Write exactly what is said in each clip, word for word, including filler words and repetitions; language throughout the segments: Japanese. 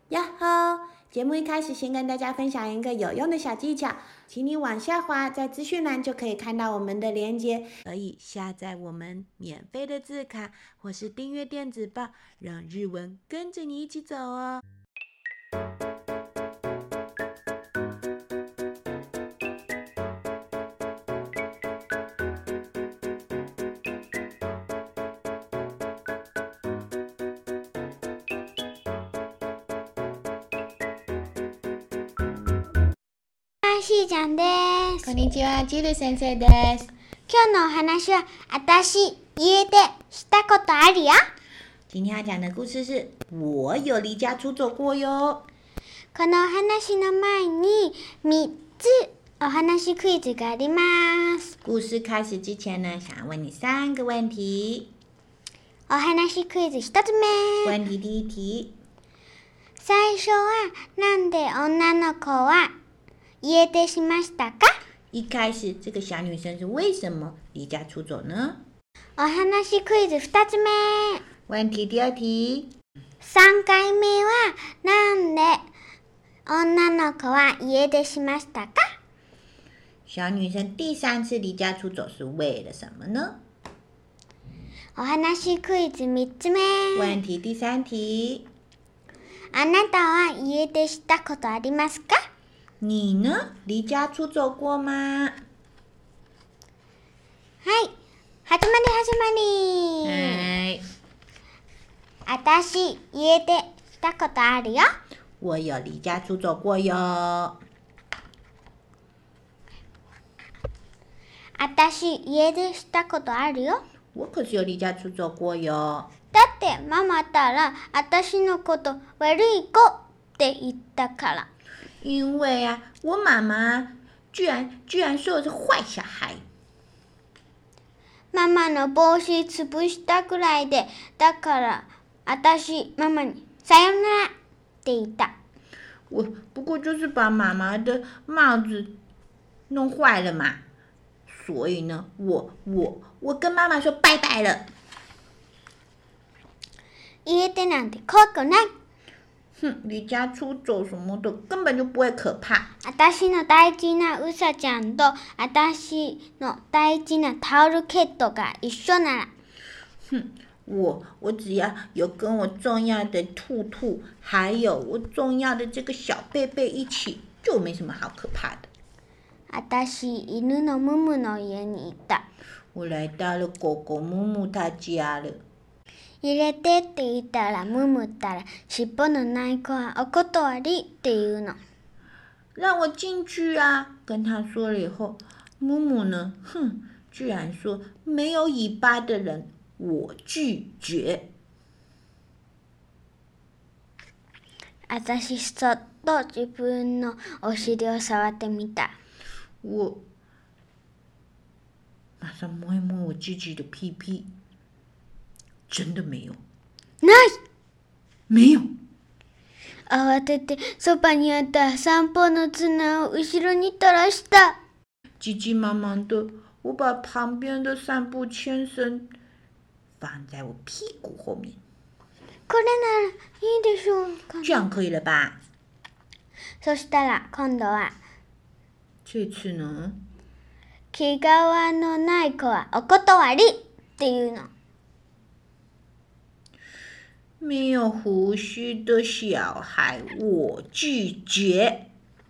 呀吼！節目一開始，先跟大家分享一個有用的小技巧，請你往下滑，在資訊欄就可以看到我們的連結，可以下載我們免費的字卡，或是訂閱電子報，讓日文跟着你一起走哦。 しーちゃんです。 こんにちは、ジル先生です。 今日のお話は、私、家出したことあるよ。 今天要講的故事是我有離家出走過喲。 このお話の前にみっつお話クイズがあります。 故事開始之前呢，想要問你三個問題。 お話クイズ一つ目。 問題第一題。 最初はなんで女の子は家出しましたか？ 一開始這個小女生是為什麼離家出走呢？ お話クイズ二つ目。 問題第二題。 三回目はなんで女の子は家出しましたか？ 小女生第三次離家出走是為了什麼呢？ お話クイズ三つ目。 問題第三題。 あなたは家出したことありますか？ 你呢？離家出走過嗎？ はい。始まり始まり。 はい。 私、家出したことあるよ。 我有離家出走過喲。 私、家出したことあるよ。 我可是有離家出走過喲。 だってママったら、私のこと悪い子って言ったから。 因為啊，我媽媽居然居然說我是壞小孩。 ママの帽子潰したくらいで、だから私ママにさよならって言った。 我不過就是把媽媽的帽子弄壞了嘛，所以呢，我我我跟媽媽說拜拜了。 家出なんて怖くない。 哼，離家出走什麼的根本就不會可怕。 私の大事なうさちゃんと私の大事なタオルケットが一緒なら。 哼，我我只要有跟我重要的兔兔，還有我重要的這個小貝貝一起，就沒什麼好可怕的。 私、犬のムムの家に行った。 我來到了狗狗ムム他家了。 入れてって言ったらムムったら尻尾のない子はお断りって言うの。 讓我進去啊！跟他說了以後，ムム呢，哼，居然說沒有尾巴的人，我拒絕。 私そっと自分のお尻を觸ってみた。 我馬上摸一摸我自己的屁屁。真的沒有。 ない沒有。 慌ててそばにあった散歩の綱を後ろに垂らした。 急急忙忙的，我把旁邊的散步牽繩放在我屁股後面。 これならいいでしょうか。 這樣可以了吧？ そしたら今度は這次呢？ 毛皮のない子はお斷りっていうの。 沒有鬍鬚的小孩，我拒絕。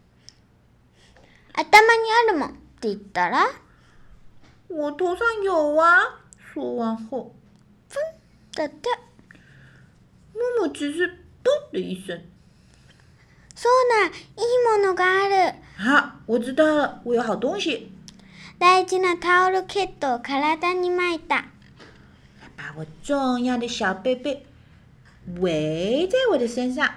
頭にあるもんって言ったら？ 我頭上有啊。說完後， ふんだって。 ムム只是噗的一聲。 そうだ、いいものがある。 啊，我知道了，我有好東西。 大事なタオルケットを體に巻いた。 把我重要的小貝貝圍在我的身上。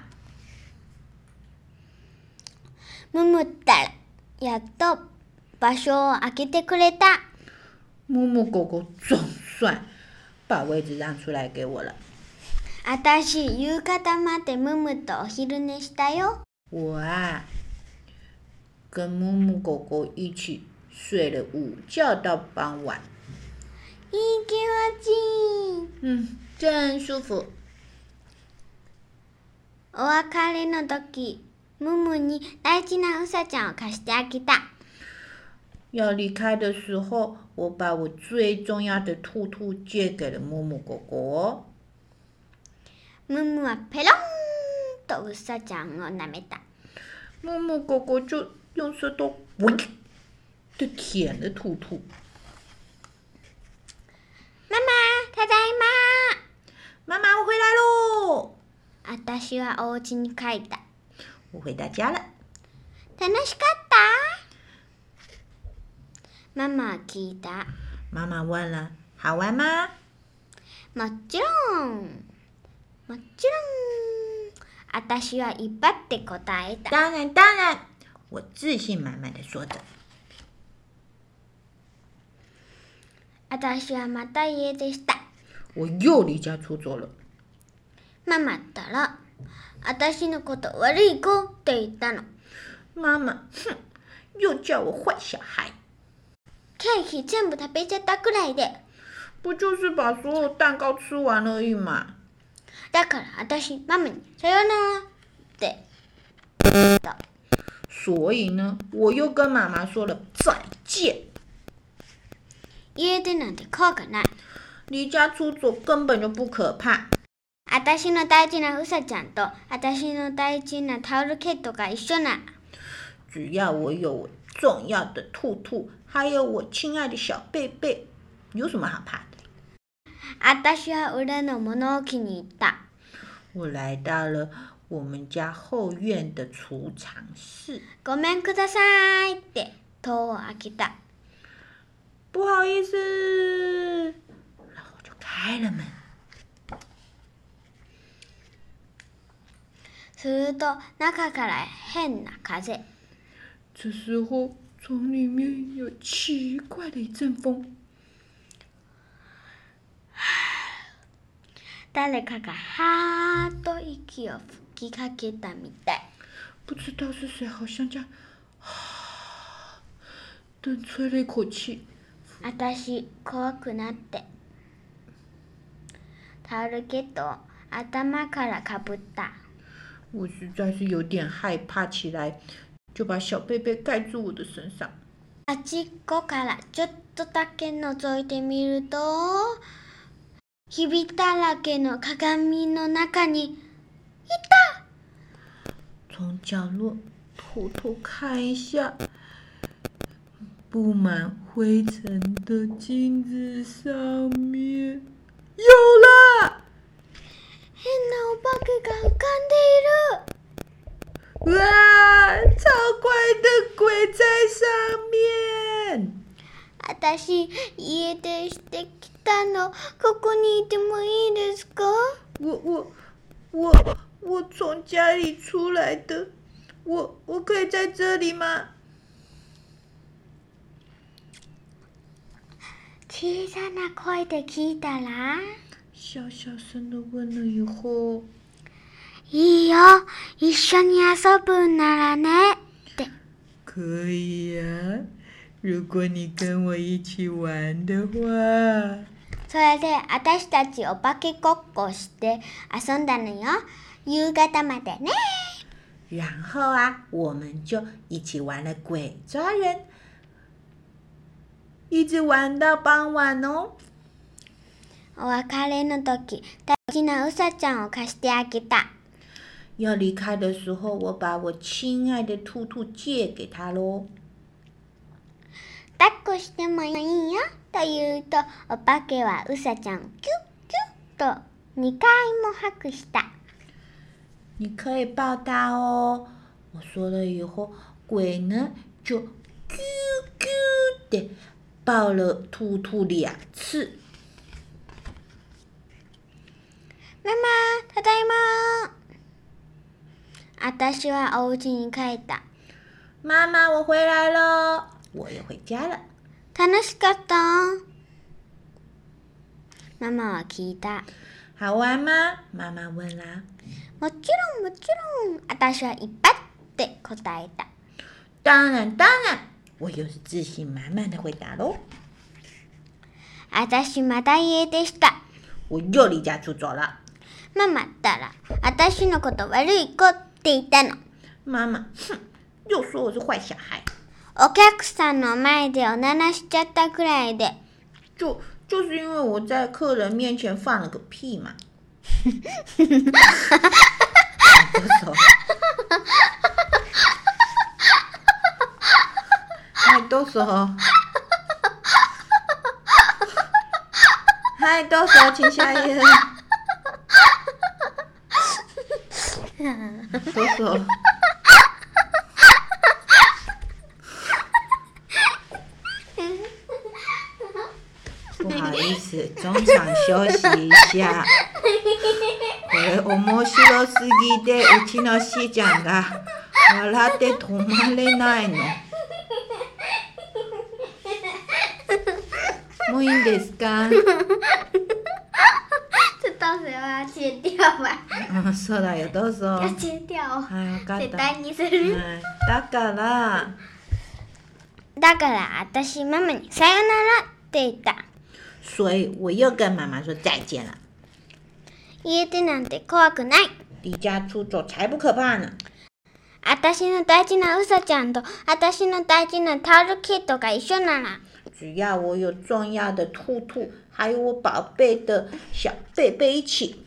ムムったらやっと場所を空けてくれた。 ムム狗狗總算把位置讓出來給我了。 あたし夕方までムムとお昼寝したよ。 我啊，跟ムム狗狗一起睡了午覺到傍晚。 いい気持ちいい。 嗯，真舒服。 おお別れの時、ムムに大事なうさちゃんを貸してあげた。 要離開的時候，我把我最重要的兔兔借給了木木狗狗。 ムムはペロンとうさちゃんを舐めた。 木木狗狗就用舌頭“喂”的舔了兔兔。 ママ、ただいま。媽媽，我回來嘍。 私はお家に帰った。 我回到家了。 楽しかった？ママは聞いた。 媽媽問了：“好玩嗎？” もちろん。もちろん。私は威張って答えた。 當然當然，我自信滿滿的說着。 私はまた家出した。 我又離家出走了。 ママったら、私のこと悪い子って言ったの。 媽媽、哼、又叫我壞小孩。 ケーキ全部食べちゃったくらいで。 不就是把所有蛋糕吃完而已嘛。 だから私、ママにさよならって言った。 所以呢，我又跟媽媽說了再見。 家出なんて怖くない。 離家出走根本就不可怕。 私の大事なうさちゃんと私の大事なタオルケットが一緒な。 只要我有我重要的兔兔，還有我親愛的小貝貝，有什麼好怕的？ 私は裏の物置に行った。 我來到了我們家後院的儲藏室。 ごめんくださいって戸を開けた。 不好意思，然後就開了門。 すると中から変な風。 這時候從裡面有奇怪的一陣風。 誰かがはーっと息を吹きかけたみたい。 不知道是誰，好像這樣，的吹了一口氣。 私、怖くなって、タオルケットを頭からかぶった。 我實在是有點害怕起來，就把小貝貝蓋住我的身上。 あっちっこからちょっとだけ覗いてみると、ひびだらけの鏡の中にいた。 從角落偷偷看一下，布滿灰塵的鏡子上面有了。 変なお化けが浮かんでいる。 哇，超怪的鬼在上面。 私、家出してきたの。ここにいてもいいですか？ 我我我我從家裡出來的，我我可以在這裡嗎？ 小さな聲で聞いたら、 小小聲的問了以後， いいよ、一緒に遊ぶならねって。 可以呀、啊。如果你跟我一起玩的話。 それで私たちお化けごっこして遊んだのよ。夕方までね。 然後啊，我們就一起玩了鬼抓人，一直玩到傍晚哦。 お別れの時、大事なうさちゃんを貸してあげた。 要離開的時候，我把我親愛的兔兔借給他嘍。 抱っこしてもいいよと言うと、お化けはうさちゃんをキュッキュッとにかいもハグした。 你可以抱他哦。我說了以後，鬼呢就啾啾的抱了兔兔兩次。 ママ、ただいま。私はお家に帰った。 媽媽，我回來了。我也回家了。 楽しかった？ママは聞いた。 好玩嗎？媽媽問啦。 もちろんもちろん。私は威張って答えた。 當然當然。我又是自信滿滿的回答嘍。 私また家出した。 我又離家出走了。 ママったら私のこと悪い子って言ったの。 妈妈，哼，又说我是壞小孩。 お客さんの前でおならしちゃったくらいで。 就就是因為我在客人面前放了個屁嘛。はい、どうぞ。はい、どうぞ，請下一頁。どうぞ。不好意思，中場休息一下。これ面白すぎて、うちのしーちゃんが笑って止まれないの。もういいんですか？ ちょっとそれは切掉吧。 うん、そうだよ、どうぞ。 切掉。 はい、分かった。 絶対にする。 はい、だから。 だから私ママにさよならって言った。 所以我又跟媽媽說再見了。 家出なんて怖くない。 離家出走才不可怕呢。 私の大事なうさちゃんと私の大事なタオルケットが一緒なら。 只要我有重要的兔兔，還有我寶貝的小貝貝一起。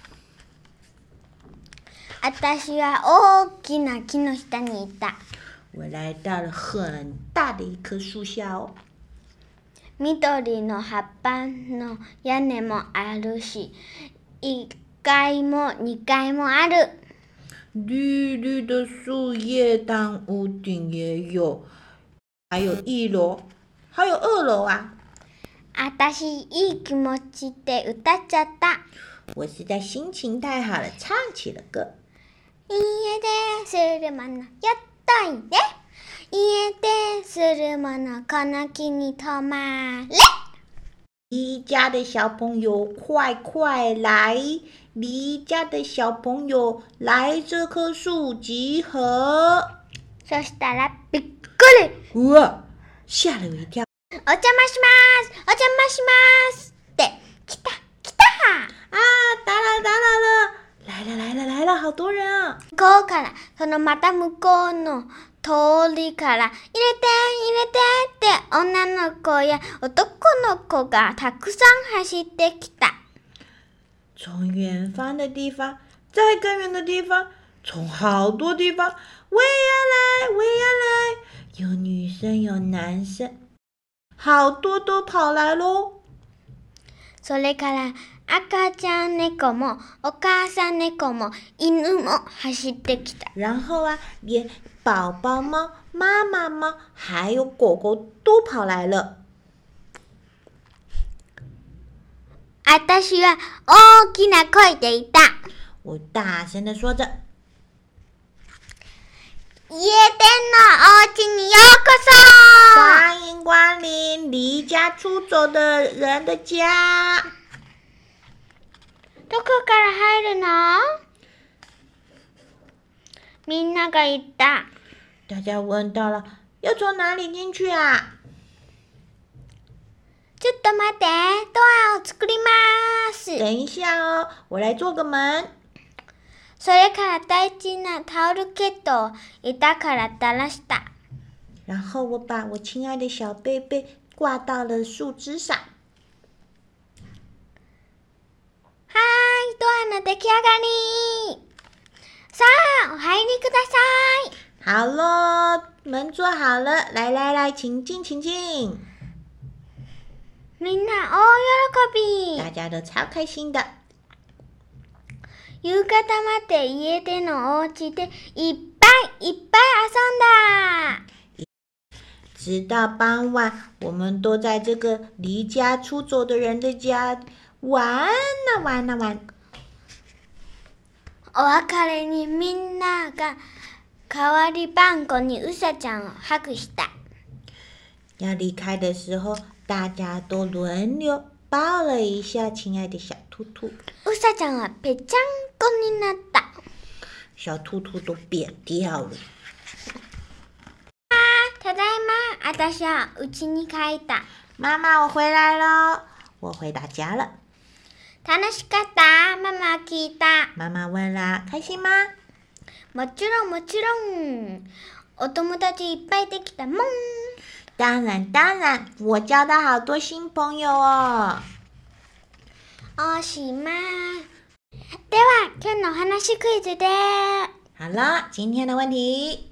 私は大きな木の下にいた。 我來到了很大的一棵樹下哦。 緑の葉っぱの屋根もあるし、いっかいもにかいもある。 綠綠的樹葉，當屋頂也有，還有一樓，還有二樓啊。 私いい気持ちで歌っちゃった。 我實在心情太好了，唱起了歌。 家でするものやっといで。家でするものこの木に止まれ。 離家的小朋友快快來，離家的小朋友來這棵樹集合。 そしたらびっくり。 うわ、嚇了我一跳。 お邪魔しますお邪魔しますって来た来た。 啊，打擾打擾了，來了來了來了，好多人啊。 向こうからそのまた向こうの通りから入れて入れてって女の子や男の子がたくさん走ってきた。 從遠方的地方，再更遠的地方，從好多地方，我也要來，我也要來。有女生有男生，好多都跑來咯。 それから赤ちゃん猫もお母さん猫も犬も走ってきた。 然後啊，連寶寶貓、媽媽貓還有狗狗都跑來了。 私は大きな聲で言った。 我大聲地說着。 家電のお家にようこそ。 歡迎光臨離家出走的人的家。 どこから入るの？みんなが言った。 大家問到了，要從哪裡進去啊？ ちょっと待って、ドアを作ります。 等一下哦，我來做個門。 それから大事なタオルケットを板から垂らした。 然後我把我親愛的小貝貝掛到了樹枝上。 はーい、ドアの出来上がり。さあ、お入りください。 好咯，門做好了，來來來，請進請進。 みんな大喜び。 大家都超開心的。 夕方まで家でのお家でいっぱいいっぱい遊んだ。 直到傍晚，我們都在這個離家出走的人的家玩啊玩啊玩。 お別れにみんなが代わり番号にうさちゃんをハグした。 要離開的時候，大家都輪流抱了一下親愛的小兔兔。 うさちゃんはぺちゃんこになった。 小兔兔都扁掉了。 ただいま、私は家に帰った。 媽媽，我回來了，我回到家了。 楽しかった。ママは聞いた。 媽媽問了，開心嗎？ もちろんもちろん。お友達いっぱいできたもん。 當然當然，我交到好多新朋友哦。 おしまい。では、今日のお話クイズで。 好了，今天的問題。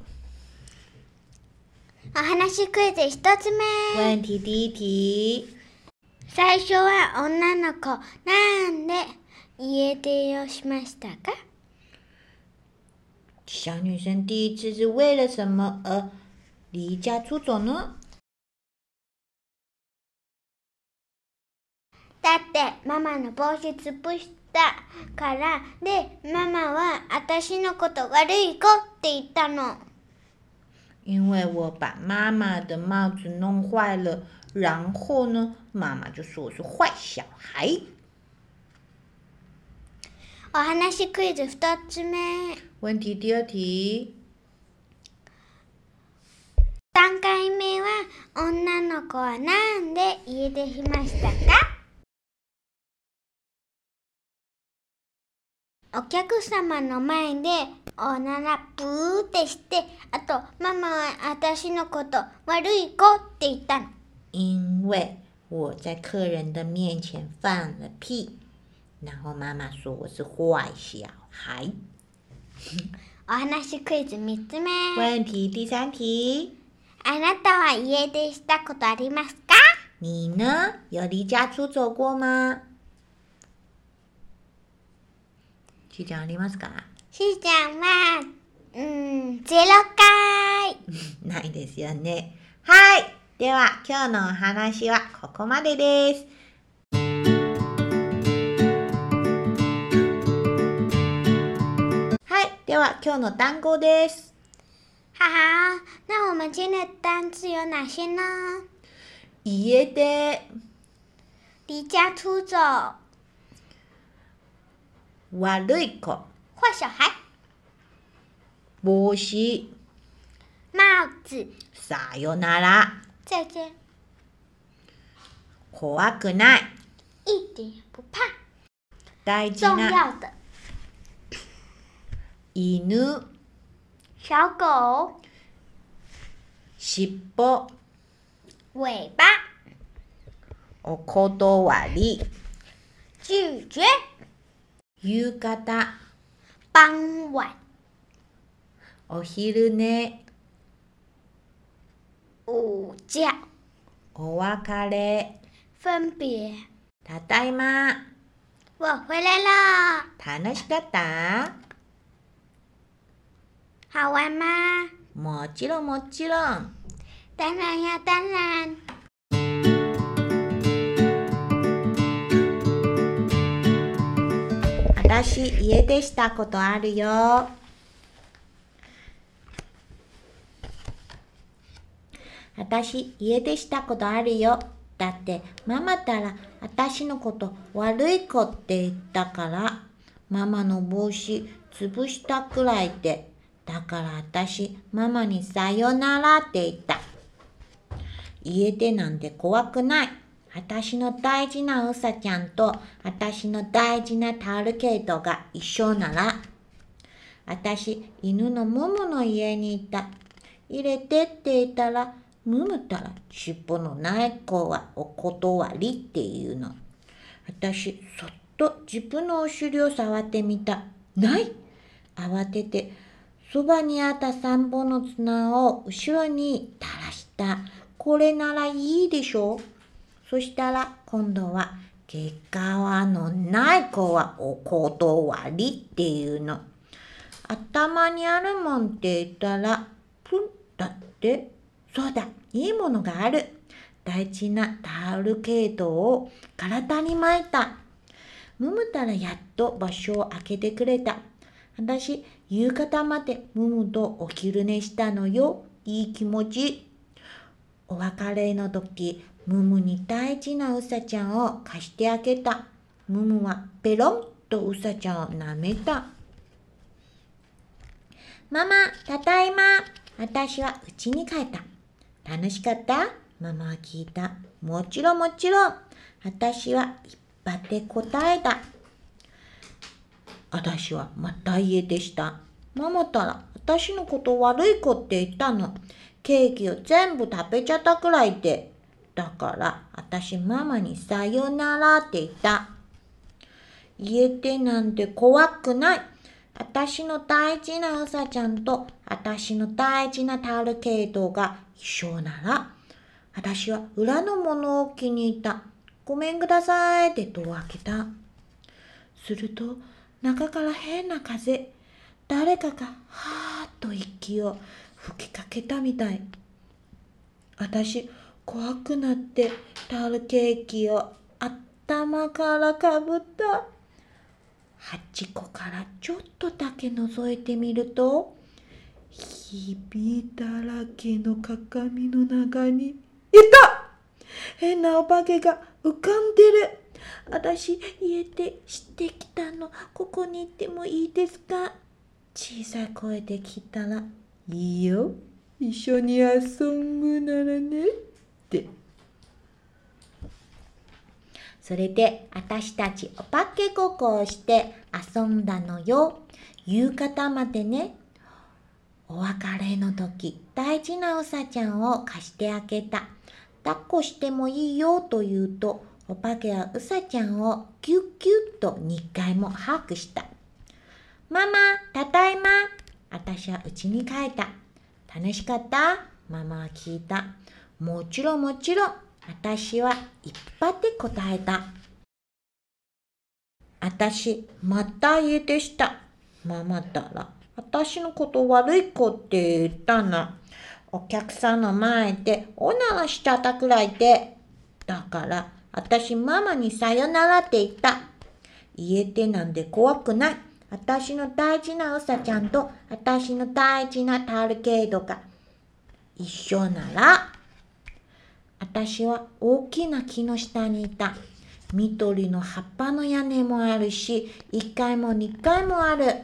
お話クイズ一つ目。 問題第一題。 最初は女の子、なんで家出をしましたか？ 小女生第一次是為了什麼而離家出走呢？ だってママの帽子潰したからで、ママは私のこと悪い子って言ったの。 因為我把媽媽的帽子弄壞了，然後呢，媽媽就說我是壞小孩。 お話クイズ二つ目。 問題第二題。 三回目は女の子はなんで家出しましたか？お客様の前でおならブーってして、あとママは私のこと悪い子って言ったの。 因為我在客人的面前放了屁，然後媽媽說我是壞小孩。 お話クイズ三つ目。 問題第三題。 あなたは家出したことありますか？ 你呢？有離家出走過嗎？しーちゃんありますか？ しーちゃんは、うーん、ゼロかい。 ないですよね。はい。では、今日のお話はここまでです。はい。では、今日の単語です。 好，那我們今天的單詞有哪些呢？ 家出、 離家出走、 悪い子、 壞小孩、 帽子、 帽子、 さよなら、 再見、 怖くない、 一點也不怕、 大事重な、 要的、 犬、 小狗、 尻尾、 尾巴、 お断り、 拒絕、 夕方、 傍晚、 お昼寝、 午覺、 お別れ、 分別。 ただいま。 我回來了。 楽しかった？ 好玩嗎？ もちろんもちろん。 當然呀，當然。 私、家出したことあるよ。私、家出したことあるよ。だって、ママったら、私のこと悪い子って言ったから、ママの帽子潰したくらいで、だから私、ママにさよならって言った。家出なんて怖くない。私の大事なうさちゃんと私の大事なタオルケイトが一緒なら。私、犬のムムの家にいた。入れてって言ったら、ムムったら尻尾のない子はお断りっていうの。私、そっと自分のお尻を触ってみた。ない！慌てて、そばにあった三本の綱を後ろに垂らした。これならいいでしょ？そしたら今度は毛皮のない子はお断りっていうの。頭にあるもんって言ったらプンだって。そうだ、いいものがある。大事なタオルケイトを体に巻いた。ムムたらやっと場所を空けてくれた。私、夕方までムムとお昼寝したのよ。いい気持ち。お別れの時、ムムに大事なウサちゃんを貸してあげた。ムムはペロンとウサちゃんを舐めた。ママ、ただいま。私は家に帰った。楽しかった？ママは聞いた。もちろんもちろん。私はいっ張って答えた。私はまた家出した。ママったら私のこと悪い子って言ったの。ケーキを全部食べちゃったくらいで。だから私ママにさよならって言った。家出なんて怖くない。私の大事なうさちゃんと私の大事なタルケイトが一緒なら、私は裏のものを気に入った。ごめんくださいって戸を開けた。すると中から変な風、誰かがはーっと息を吹きかけたみたい。私怖くなってタルケーキを頭からかぶった。端っこからちょっとだけ覗いてみると、ひびだらけの鏡の中にいた変なお化けが浮かんでる。私家出してきたの、ここに行ってもいいですか？小さい声で聞いたら、いいよ、一緒に遊ぶならねって。それで私たちお化けごっこをして遊んだのよ。夕方までね。お別れの時、大事なうさちゃんを貸してあげた。抱っこしてもいいよと言うと、お化けはうさちゃんをギュッギュッとにかいもハグした。ママ、ただいま。私は家に帰った。楽しかった？ママは聞いた。もちろんもちろん。私はいっぱいで答えた。私、また家出した。ママったら、私のこと悪い子って言ったな。お客さんの前でおならしちゃったくらいで。だから、私ママにさよならって言った。家出なんて怖くない。私の大事なうさちゃんと私の大事なタルケイドが一緒なら、私は大きな木の下にいた。緑の葉っぱの屋根もあるし、いっかいもにかいもある。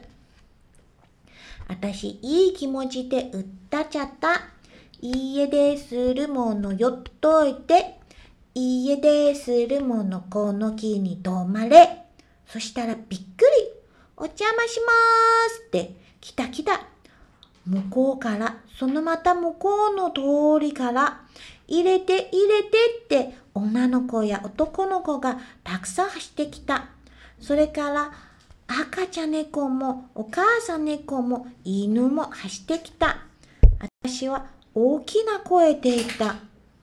私いい気持ちで歌っちゃった。家出するものよっといて。家出するものこの木に止まれ。そしたらびっくり。お邪魔しますって来た来た。向こうから、そのまた向こうの通りから、入れて入れてって女の子や男の子がたくさん走ってきた。それから赤ちゃん猫もお母さん猫も犬も走ってきた。私は大きな声で言った。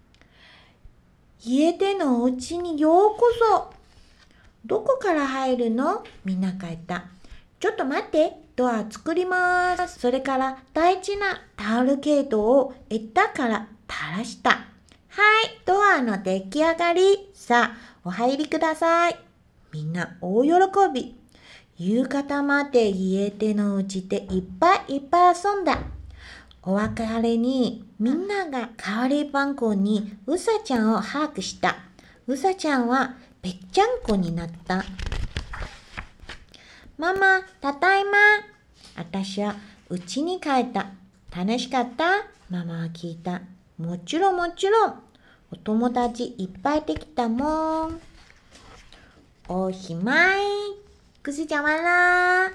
家出のお家にようこそ。どこから入るの？みんなが言った。ちょっと待って、ドア作ります。それから大事なタオルケートを枝から垂らした。はい、ドアの出来上がり。さあ、お入りください。みんな大喜び。夕方まで家出のうちでいっぱいいっぱい遊んだ。お別れにみんなが代わり番号にうさちゃんをハグした。うさちゃんはぺっちゃんこになった。ママ、ただいま。私は家に帰った。楽しかった？ママは聞いた。もちろんもちろん。お友達いっぱいできたもん。おしまい。故事講完啦。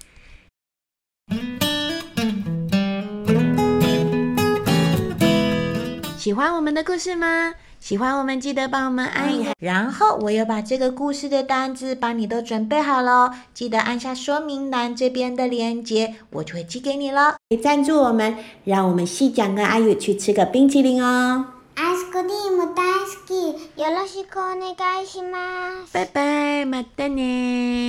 喜歡我們的故事嗎？喜歡我們記得幫我們按一下，然後我又把這個故事的單字幫你都準備好了，記得按下說明欄這邊的鏈接，我就會寄給你了。贊助我們，讓我們細講跟阿宇去吃個冰淇淋哦。 アイスクリーム大好き。よろしくお願いします。 拜拜，またね。